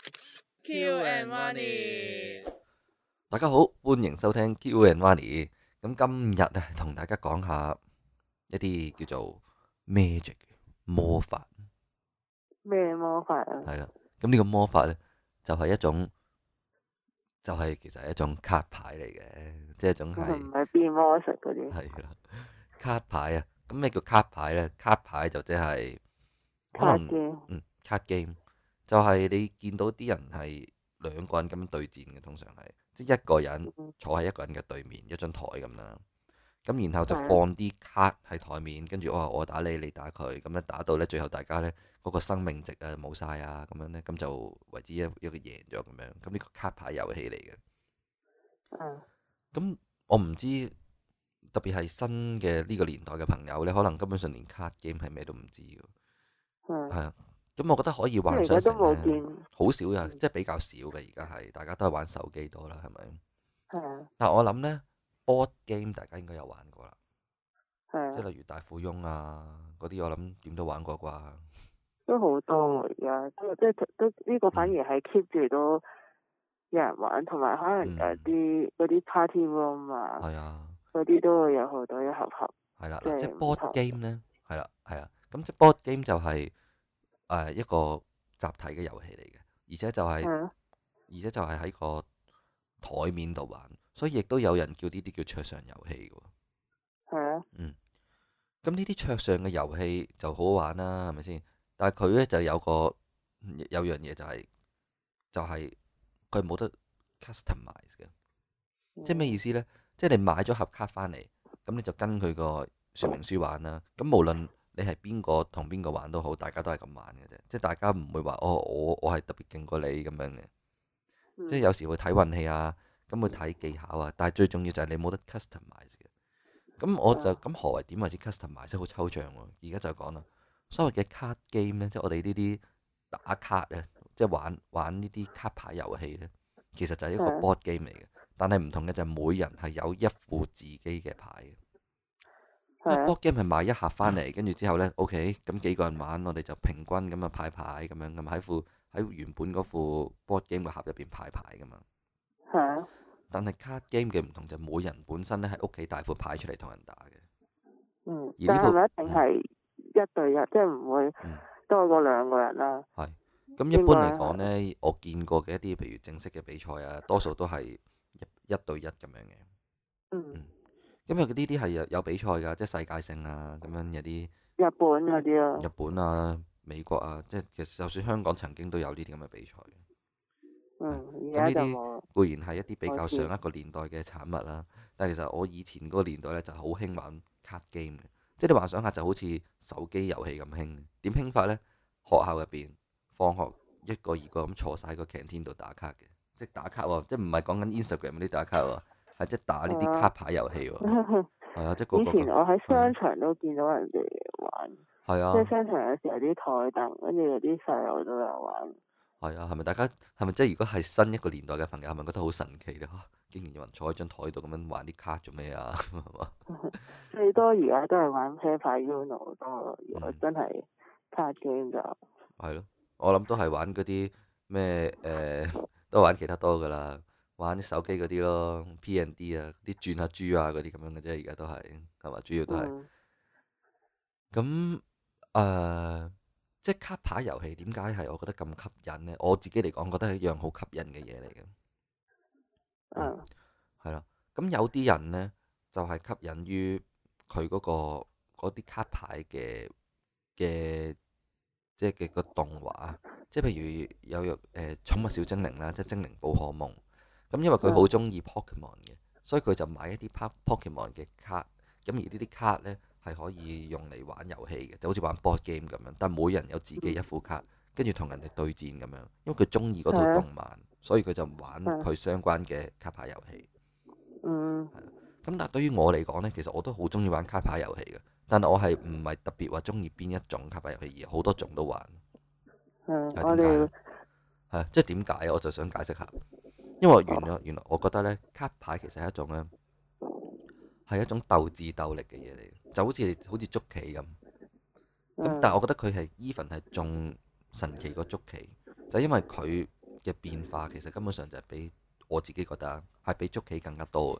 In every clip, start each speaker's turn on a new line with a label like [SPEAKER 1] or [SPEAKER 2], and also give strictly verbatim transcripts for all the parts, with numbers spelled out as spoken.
[SPEAKER 1] Q and Money，
[SPEAKER 2] 大家好，歡迎收聽 Q and Money。咁今日啊，同大家講下一啲叫做 magic 魔法。
[SPEAKER 3] 咩魔法啊？
[SPEAKER 2] 係啦，咁呢個魔法呢，就係、是、一種，就係、是、其實係一種卡牌嚟嘅，即係一種係
[SPEAKER 3] 唔係變魔術嗰啲。
[SPEAKER 2] 係啦，卡牌啊。咁咩叫卡牌呢？卡牌就即係可能
[SPEAKER 3] 卡機。
[SPEAKER 2] 嗯卡 game，就係你見到啲人係兩個人咁樣對戰嘅，通常係即係一個人坐喺一個人嘅對面，一張台咁啦。咁然後就放啲卡喺台面，跟住我話我打你，你打佢，咁樣打到呢，最後大家呢嗰個生命值啊冇晒啊，咁樣呢，咁就為之一一個贏咗咁樣。咁呢個卡牌遊戲嚟嘅。
[SPEAKER 3] 嗯。
[SPEAKER 2] 咁我唔知，特別係新嘅呢個年代嘅朋友呢，可能根本上連卡 game 係咩都唔知㗎。
[SPEAKER 3] 嗯。
[SPEAKER 2] 係啊。咁我覺得可以幻想成咧，好少呀，
[SPEAKER 3] 嗯、
[SPEAKER 2] 即係比較少嘅。而家係大家都係玩手機多啦，係咪？
[SPEAKER 3] 係啊。
[SPEAKER 2] 但我諗呢 board game 大家應該有玩過啦，
[SPEAKER 3] 係啊。
[SPEAKER 2] 即係例如大富翁啊嗰啲，我諗點都玩過啩。
[SPEAKER 3] 都好多而家，即係都呢個反而係 keep 住都有人玩，同埋可能有啲嗰啲 party room 啊，
[SPEAKER 2] 係啊，
[SPEAKER 3] 嗰啲都會有好多一盒盒。
[SPEAKER 2] 係啦，嗱，即係 board game 呢，係啦，係啊，咁即係 board game 就係、是。誒、呃、一個集體嘅遊戲嚟嘅，而且就係、是，
[SPEAKER 3] 嗯、
[SPEAKER 2] 而且就係喺個台面度玩，所以亦都有人叫呢啲叫桌上遊戲嘅喎。
[SPEAKER 3] 係啊。
[SPEAKER 2] 嗯。咁呢啲桌上嘅遊戲就好好玩啦，係咪先？但係佢呢就有個有樣嘢就係、是，就係佢冇得 customize 嘅，嗯、即係咩意思呢？即係你買咗盒卡翻嚟，咁你就跟佢個說明書玩啦。咁無論你係邊個同邊個玩都好，大家都係咁玩嘅啫，即係大家唔會話哦，我我係特別勁過你咁樣嘅，嗯、即係有時會睇運氣啊，咁會睇技巧啊，但係最重要就係你冇得 customize 嘅。咁我就咁、嗯、何為點為之 customize？即係好抽象喎。而家就講啦，所謂嘅 card game 呢，即係我哋呢啲打卡啊，即係玩玩呢啲卡牌遊戲呢，其實就係一個 board game 嚟嘅，但係唔同嘅就係每人係有一副自己嘅牌嘅。因為 board game 係買一盒翻嚟，跟住之後呢 OK，咁幾個人玩，我哋就平均咁啊派牌咁樣，咁喺副喺原本嗰副 board game 個盒入邊派牌噶嘛。係啊。但係 card game 嘅唔同就係每人本身咧喺屋企帶副牌出嚟同人打嘅。
[SPEAKER 3] 嗯。
[SPEAKER 2] 而呢副
[SPEAKER 3] 但係一定係一對一，嗯、即係唔會多過兩個人啦。係。
[SPEAKER 2] 咁一般嚟講呢，我見過嘅一啲譬如正式嘅比賽啊，多數都係一一對一咁樣嘅。
[SPEAKER 3] 嗯。
[SPEAKER 2] 嗯。因為呢啲係有有比賽㗎，即係世界性啊，咁樣有啲
[SPEAKER 3] 日本嗰啲啊，
[SPEAKER 2] 日本啊、美國啊，即係其實就算香港曾經都有呢啲咁嘅比賽。
[SPEAKER 3] 嗯，
[SPEAKER 2] 咁呢啲固然係一啲比較上一個年代嘅產物啦，但係其實我以前嗰個年代咧就好興玩卡 game 嘅，即係你幻想下就好似手機遊戲咁興。點興法呢？學校入邊放學一個二個咁坐晒喺個 canteen 度打卡嘅，即係打卡喎，即係唔係講緊 Instagram 嗰啲打卡喎。係即係打呢啲卡牌遊戲喎，係啊，即係個個。以前
[SPEAKER 3] 我喺商場都見到人哋玩，
[SPEAKER 2] 係啊，
[SPEAKER 3] 即係商場有時有啲台凳，跟住有啲細路都有玩。
[SPEAKER 2] 係啊，係咪大家係咪即係如果係新一個年代嘅朋友，係咪覺得好神奇咧？嚇，竟然有人坐喺張台度咁樣玩啲卡做咩啊？係嘛？
[SPEAKER 3] 最多而家都係玩啤牌 Uno 多，如果真係卡 game 就
[SPEAKER 2] 係咯，我諗都係玩嗰啲咩誒，都玩其他多噶啦。玩啲手機嗰啲咯 ，P and D 啊，啲轉下珠啊嗰啲咁樣嘅啫，而家都係係嘛，主要都係。咁誒、嗯呃，即係卡牌遊戲點解係我覺得咁吸引呢？我自己嚟講，覺得係一樣好吸引嘅嘢嚟嘅。
[SPEAKER 3] 嗯。
[SPEAKER 2] 係啦，咁有啲人呢，就係、是、吸引於佢嗰、嗰個嗰啲卡牌嘅嘅，即係嘅個動畫，即係譬如有誒、呃、寵物小精靈啦，即係精靈寶可夢。咁因為佢好中意 Pokemon 嘅，所以佢就買一啲 Pokemon 嘅卡。咁而呢啲卡呢，係可以用嚟玩遊戲嘅，就好似玩 board game 咁樣。但係每人有自己一副卡，跟住同人哋對戰咁樣。因為佢中意嗰套動漫，所以佢就玩佢相關嘅卡牌遊戲。
[SPEAKER 3] 嗯。
[SPEAKER 2] 係啊。咁但係對於我嚟講呢，其實我都好中意玩卡牌遊戲嘅。但係我係唔係特別話中意邊一種卡牌遊戲，而好多種都玩。
[SPEAKER 3] 嗯。
[SPEAKER 2] 係點解呢？係即係點解？我就想解釋下。因為原來原來我覺得咧，卡牌其實係一種咧，係一種鬥智鬥力嘅嘢嚟，就好似好似捉棋咁。咁、嗯、但係我覺得佢係 even 係仲神奇過捉棋，就係、因為佢嘅變化其實根本上就係比我自己覺得係比捉棋更加多嘅。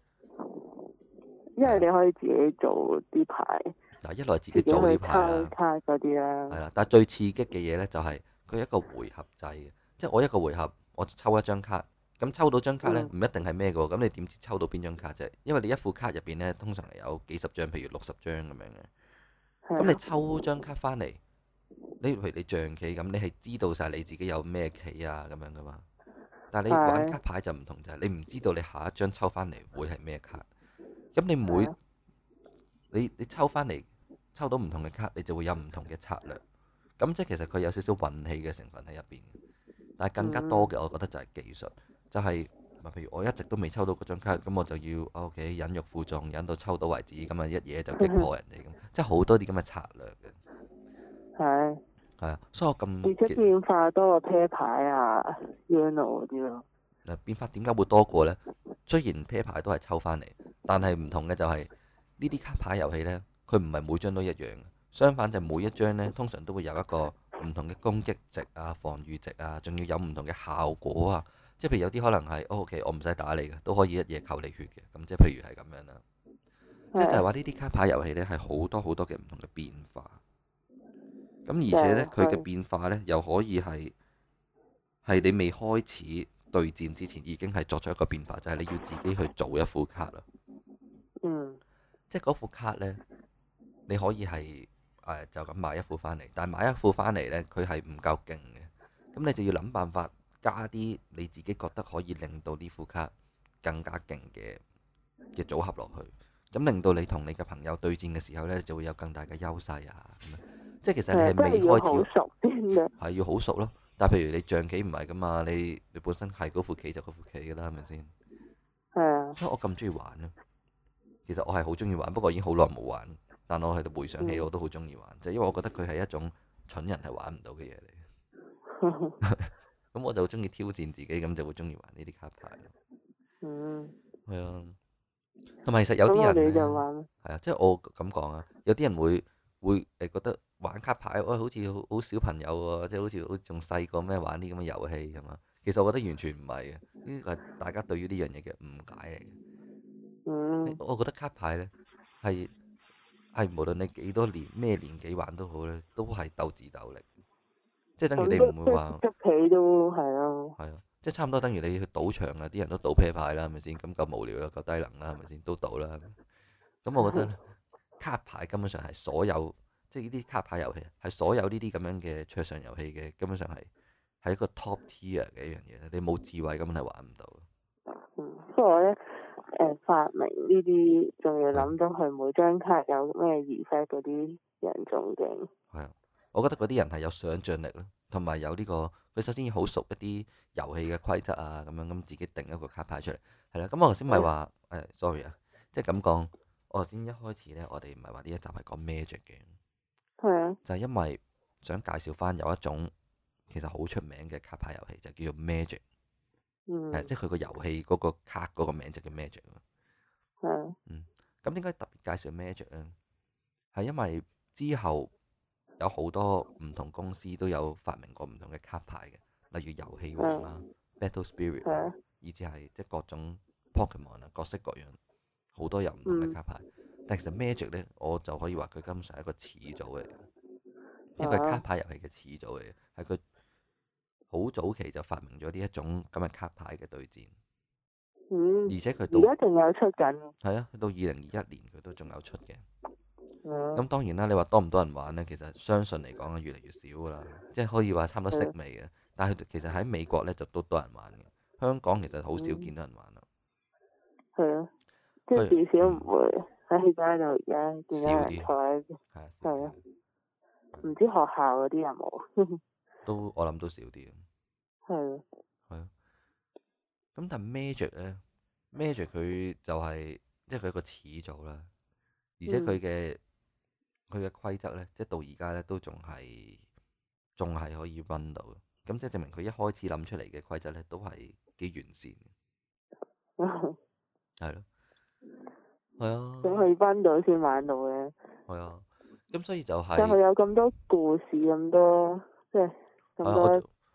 [SPEAKER 3] 因為你可以自己做啲牌，
[SPEAKER 2] 嗱，一來自己
[SPEAKER 3] 自己
[SPEAKER 2] 做啲
[SPEAKER 3] 去
[SPEAKER 2] 牌啦，
[SPEAKER 3] 抽卡嗰啲啦。
[SPEAKER 2] 係啦，但係最刺激嘅嘢呢，就係佢一個回合制嘅，即係我一個回合我抽一張卡，咁抽到張卡呢，唔一定係咩嘅喎，咁你點知抽到邊張卡啫？因為你一副卡入邊呢，通常係有幾十張，譬如六十張咁樣嘅，咁你抽張卡翻嚟，你譬如你象棋咁，你係知道晒你自己有咩棋啊咁樣噶嘛？但係你玩卡牌就唔同，就係你唔知道你下一張抽翻嚟會係咩卡。咁你每你你抽翻嚟抽到唔同嘅卡，你就會有唔同嘅策略。咁即係其實佢有少少運氣嘅成分喺入邊。但係更加多嘅，我覺得就係技術，就係譬如我一直都未抽到嗰張卡，咁我就要 OK 忍辱負重，忍到抽到為止，咁啊一嘢就擊破人哋咁，即係好多啲咁嘅策略嘅。
[SPEAKER 3] 係。
[SPEAKER 2] 係啊，所以我咁
[SPEAKER 3] 而且變化多過啤牌啊、Uno 嗰啲咯。
[SPEAKER 2] 嗱，變化點解會多過呢？雖然啤牌都係抽翻嚟，但係唔同嘅就係呢啲卡牌遊戲呢，佢唔係每張都一樣。相反就每一張呢，通常都會有一個唔同嘅攻擊值啊、防禦值啊，仲要有唔同嘅效果啊。即係譬如有啲可能係、哦、OK，我唔使打你嘅，都可以一嘢扣你血嘅。咁即係譬如係咁樣啦。即係就係話呢啲卡牌遊戲呢，係好多好多嘅唔同嘅變化。咁而且呢，佢嘅變化呢，又可以係係你未開始對戰之前已經係作出一個變化，就係你要自己去做一副卡啦。
[SPEAKER 3] 嗯。
[SPEAKER 2] 即係嗰副卡呢，你可以係誒就咁買一副翻嚟，但係買一副翻嚟呢，佢係唔夠勁嘅。咁你就要諗辦法加啲你自己覺得可以令到呢副卡更加勁嘅嘅組合落去，咁令到你同你嘅朋友對戰嘅時候呢，就會有更大嘅優勢啊。即係其實你係未開始，係要好熟咯。但係譬如你象棋唔係噶嘛，你你本身係嗰副棋就嗰副棋噶啦，係咪先？
[SPEAKER 3] 係啊。
[SPEAKER 2] 所以我咁中意玩咯。其實我係好中意玩，不過已經好耐冇玩。但我喺度回想起，我都好中意玩，就係因為我覺得佢係一種蠢人係玩唔到嘅嘢嚟。咁我就好中意挑戰自己，咁就會中意玩呢啲卡牌。
[SPEAKER 3] 嗯。
[SPEAKER 2] 係啊。同埋其實有啲人咧，
[SPEAKER 3] 係
[SPEAKER 2] 啊，即係我咁講啊，有啲人會會誒覺得玩卡牌，喂、哎，好似好好小朋友喎，即係好似好仲細個咩玩啲咁嘅遊戲咁嘛。其實我覺得完全唔係嘅，呢個係大家對於呢樣嘢嘅誤解嚟嘅。
[SPEAKER 3] 嗯。
[SPEAKER 2] 我覺得卡牌咧係係無論你幾多年咩年紀玩都好咧，都係鬥智鬥力，即係等於你唔會話
[SPEAKER 3] 捉棋都係咯。
[SPEAKER 2] 係啊，即係差唔多等於你去賭場啊，啲人都賭啤牌啦，係咪先？咁夠無聊啦，夠低能啦，係咪先？都賭啦。咁我覺得卡牌根本上係所有，即係呢啲卡牌遊戲係所有呢啲咁樣嘅桌上遊戲嘅，根本上係係一個 top tier 嘅一樣嘢。你冇智慧根本係玩唔到。
[SPEAKER 3] 嗯，不過咧，誒發明呢啲仲要諗到佢每張卡有咩 effect 嗰啲人仲勁。係
[SPEAKER 2] 啊，我覺得嗰啲人係有想像力咯，同埋有呢個佢首先要好熟一啲遊戲嘅規則啊，咁樣咁自己定一個卡牌出嚟。係啦，咁我頭先咪話誒，sorry 啊，即係咁講。我頭先一開始咧，我哋唔係話呢一集係講 Magic 嘅，
[SPEAKER 3] 係啊，
[SPEAKER 2] 就係因為想介紹翻有一種其實好出名嘅卡牌遊戲，就叫做 Magic。
[SPEAKER 3] 嗯，
[SPEAKER 2] 係即係佢個遊戲嗰個卡嗰個名就叫 Magic 咯。
[SPEAKER 3] 係。
[SPEAKER 2] 嗯，咁點解特別介紹 Magic 咧？係因為之後有好多唔同公司都有發明過唔同嘅卡牌嘅，例如遊戲王啦、Battle Spirit 啊，以至係即係各種 Pokemon 啊，各式各樣。好多有唔同嘅卡牌，嗯、但其實 Magic 咧，我就可以話佢根本上係一個始祖嚟嘅，即係佢係卡牌遊戲嘅始祖嚟嘅，係佢好早期就發明咗呢一種咁嘅卡牌嘅對戰。
[SPEAKER 3] 嗯，
[SPEAKER 2] 而且佢到
[SPEAKER 3] 而家仲有出緊。係
[SPEAKER 2] 啊，到二零二一年佢都仲有出嘅。咁、
[SPEAKER 3] 嗯、
[SPEAKER 2] 當然啦，你話多唔多人玩咧？其實相信嚟講係越嚟越少噶啦，即係可以話差唔多式微嘅。嗯、但係其實喺美國咧就都多人玩嘅，香港其實好少見到人玩啦。
[SPEAKER 3] 係啊、嗯。即係至少唔會喺街度而家見到人坐喺，係啊，唔知學校嗰啲有冇？
[SPEAKER 2] 都我諗都少啲。
[SPEAKER 3] 係啊。
[SPEAKER 2] 係啊。咁但係 Magic 咧 ，Magic 佢就係即係佢一個始祖啦，而且佢嘅佢嘅規則咧，即係到而家咧都仲係仲係可以 run 到嘅。咁即係證明佢一開始諗出嚟嘅規則咧，都係幾完善嘅。係咯。係啊，
[SPEAKER 3] 咁佢分到先玩到嘅。係
[SPEAKER 2] 啊，咁所以就係、
[SPEAKER 3] 是，但係有咁多故事，咁多即係咁多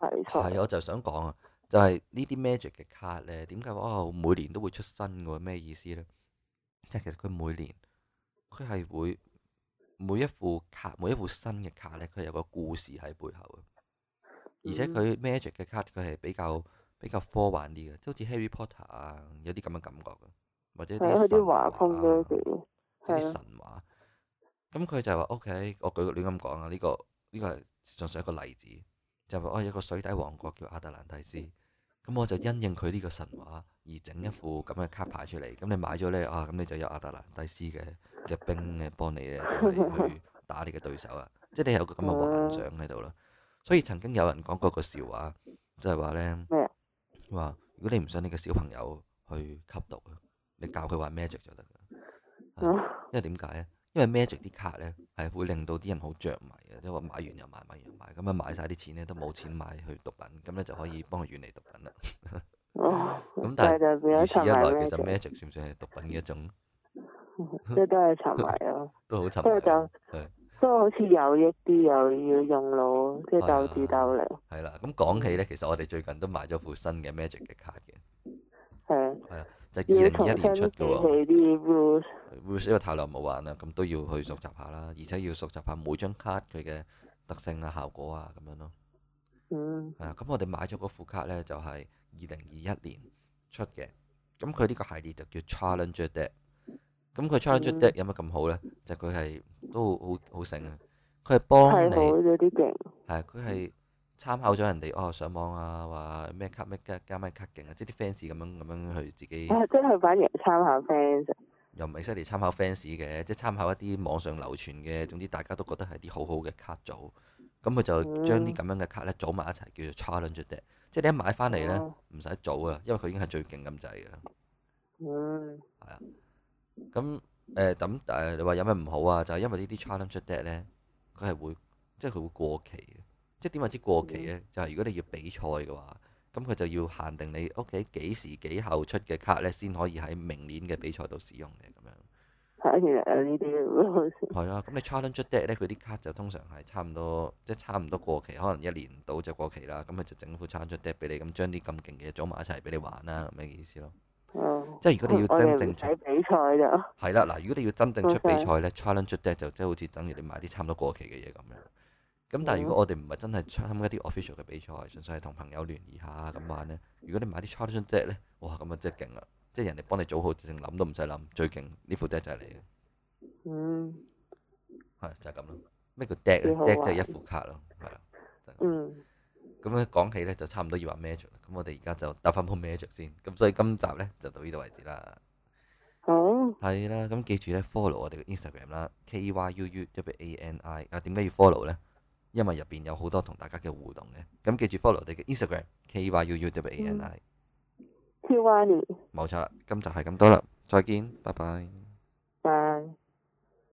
[SPEAKER 3] 題材。
[SPEAKER 2] 係，我就想講啊，就係呢啲 Magic 嘅卡咧，點解話哦每年都會出新嘅？咩意思咧？即係其實佢每年佢係會每一副卡，每一副新嘅卡咧，佢有個故事喺背後嘅。而且佢 Magic 嘅卡佢係比較比較科幻啲嘅，即好似 Harry Potter 啊，有啲咁嘅感覺嘅，或者
[SPEAKER 3] 係啊，佢啲
[SPEAKER 2] 啲神話
[SPEAKER 3] 畫風都幾
[SPEAKER 2] 有啲
[SPEAKER 3] 係啊。
[SPEAKER 2] 神話。咁佢就話 OK，我舉個亂咁講啊，呢個呢個係純粹一個例子，就話哦有個水底王國叫亞特蘭蒂斯，咁我就因應佢呢個神話而整一副咁嘅卡牌出嚟。咁你買咗咧啊，咁你就有亞特蘭蒂斯嘅嘅兵咧幫你咧就係去打你嘅對手啊，即係你有個咁嘅幻想喺度咯。所以曾經有人講過個笑話，就係話咧
[SPEAKER 3] 咩啊？
[SPEAKER 2] 話如果你唔想你嘅小朋友去吸毒啊，你教佢玩 Magic 就得㗎。
[SPEAKER 3] 嗯
[SPEAKER 2] 因為點解咧？因為 Magic 啲卡咧係會令到啲人好着迷嘅，即係話買完又買，買完又買，咁啊買晒啲錢咧都冇錢買去毒品，咁咧就可以幫佢遠離毒品啦。
[SPEAKER 3] 哦，
[SPEAKER 2] 咁但
[SPEAKER 3] 就變
[SPEAKER 2] 係如此一來，
[SPEAKER 3] 咗沉迷
[SPEAKER 2] 其實
[SPEAKER 3] Magic，
[SPEAKER 2] Magic 算唔算係毒品嘅一種？
[SPEAKER 3] 即係都係沉迷咯。
[SPEAKER 2] 都好沉
[SPEAKER 3] 不過就
[SPEAKER 2] 迷啊。係
[SPEAKER 3] 不過好似有益啲，又要用腦，即係
[SPEAKER 2] 係
[SPEAKER 3] 鬥智鬥力。
[SPEAKER 2] 係啦，咁講起咧，其實我哋最近都買咗副新嘅 Magic 嘅卡嘅，
[SPEAKER 3] 係啊，
[SPEAKER 2] 係啊，就係二零二一年出嘅
[SPEAKER 3] 記
[SPEAKER 2] 喎。
[SPEAKER 3] 起啲 rules。
[SPEAKER 2] rules 因為太耐冇玩啦，咁都要去熟習下啦，而且要熟習下每張卡佢嘅特性啊、效果啊咁樣咯。
[SPEAKER 3] 嗯。
[SPEAKER 2] 係啊，咁我哋買咗嗰副卡咧，就係二零二一年出嘅。咁佢呢個系列就叫 Challenger Deck。咁佢 Challenger Deck 有乜咁好咧？就佢係都好好醒啊！佢係幫你
[SPEAKER 3] 係好咗啲勁。
[SPEAKER 2] 係佢係參考咗人哋哦上網啊，話咩卡咩加加咩卡勁啊，即係啲 fans 咁樣咁樣去自己。
[SPEAKER 3] 啊！即係佢反而參考 fans。
[SPEAKER 2] 又唔係犀利參考 fans 嘅，即係參考一啲網上流傳嘅，總之大家都覺得係啲好好嘅卡組。咁佢就將啲咁樣嘅卡咧組埋一齊，叫做 Challenger Deck。即係你一買翻嚟咧，唔使組啊，因為佢已經係最勁咁滯嘅啦。
[SPEAKER 3] 嗯。
[SPEAKER 2] 係啊。咁誒咁誒，你話有咩唔好啊？就係因為呢啲 Challenger Deck 咧，佢係會即係佢會過期嘅。即係點為之過期咧？就係如果你要比賽嘅話，咁佢就要限定你屋企幾時幾後出嘅卡咧，先可以喺明年嘅比賽度使用嘅咁樣。
[SPEAKER 3] 係，其實有呢啲 rules。
[SPEAKER 2] 係啊，咁你 Challenger Deck 咧，佢啲卡就通常係差唔多，即係差唔多過期，可能一年到就過期啦。咁佢就整副 Challenger Deck 俾你，咁將啲咁勁嘅嘢組埋一齊俾你玩啦，咁嘅意思咯。
[SPEAKER 3] 哦。
[SPEAKER 2] 即係如果你要真正出
[SPEAKER 3] 我哋唔使比賽就。
[SPEAKER 2] 係啦，嗱，如果你要真正出比
[SPEAKER 3] Okay。
[SPEAKER 2] 賽咧，Challenger Deck 就即係好似等於你買啲差唔多過期嘅嘢咁樣。咁但係如果我哋唔係真係參加啲 official 嘅比賽，純粹係同朋友聯誼下咁玩咧，如果你買啲 Challenger Deck 咧，哇咁啊真係勁啦！即係人哋幫你組好，直情諗都唔使諗，最勁呢副 deck 就係你嘅。
[SPEAKER 3] 嗯。
[SPEAKER 2] 係就係咁咯。咩叫 deck 咧
[SPEAKER 3] 幾好
[SPEAKER 2] ？deck 即係
[SPEAKER 3] 玩
[SPEAKER 2] 一副卡咯，係啊。就係咁
[SPEAKER 3] 嗯。
[SPEAKER 2] 咁咧講起咧就差唔多要話 Magic 啦。咁我哋而家就搭翻鋪 Magic 先。咁所以今集咧就到呢度為止啦。
[SPEAKER 3] 好。
[SPEAKER 2] 係啦，咁記住咧 follow 我哋嘅 Instagram 啦，K Y U U W A N I。啊，點解要 follow 咧？因為入邊有好多同大家嘅互動嘅。咁記住 follow 我哋嘅 Instagram K Y U U W A N I。
[SPEAKER 3] Tiwani。
[SPEAKER 2] 冇錯啦，今集係咁多啦，再見，拜拜。
[SPEAKER 3] 拜。